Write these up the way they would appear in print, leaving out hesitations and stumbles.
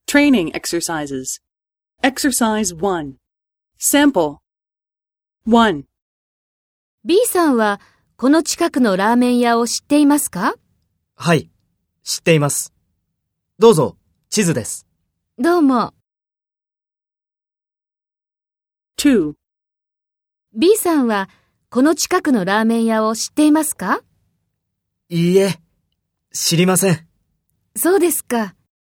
Training exercises. Exercise 1. Sample. 1. B さんはこの近くのラーメン屋を知っていますか？ はい、知っています。どうぞ、地図です。 どうも。 2. B さんはこの近くのラーメン屋を知っていますか？ いいえ、知りません。 そうですか。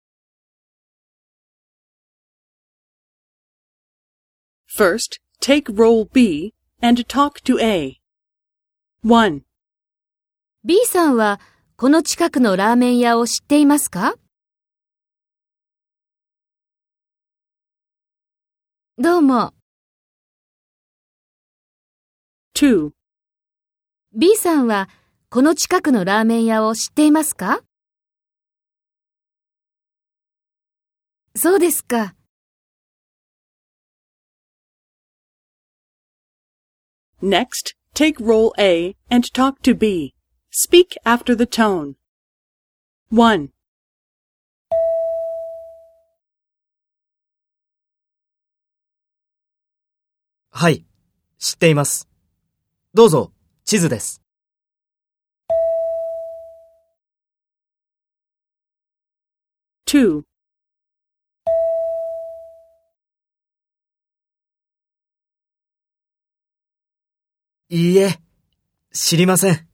First, take role B and talk to A. 1. B さんはこの近くのラーメン屋を知っていますか？どうも。 2. B さんはこの近くのラーメン屋を知っていますか？そうですか。 Next, take role A and talk to B. Speak after the tone. 1. はい、知っています。どうぞ、地図です。 2. いいえ、知りません。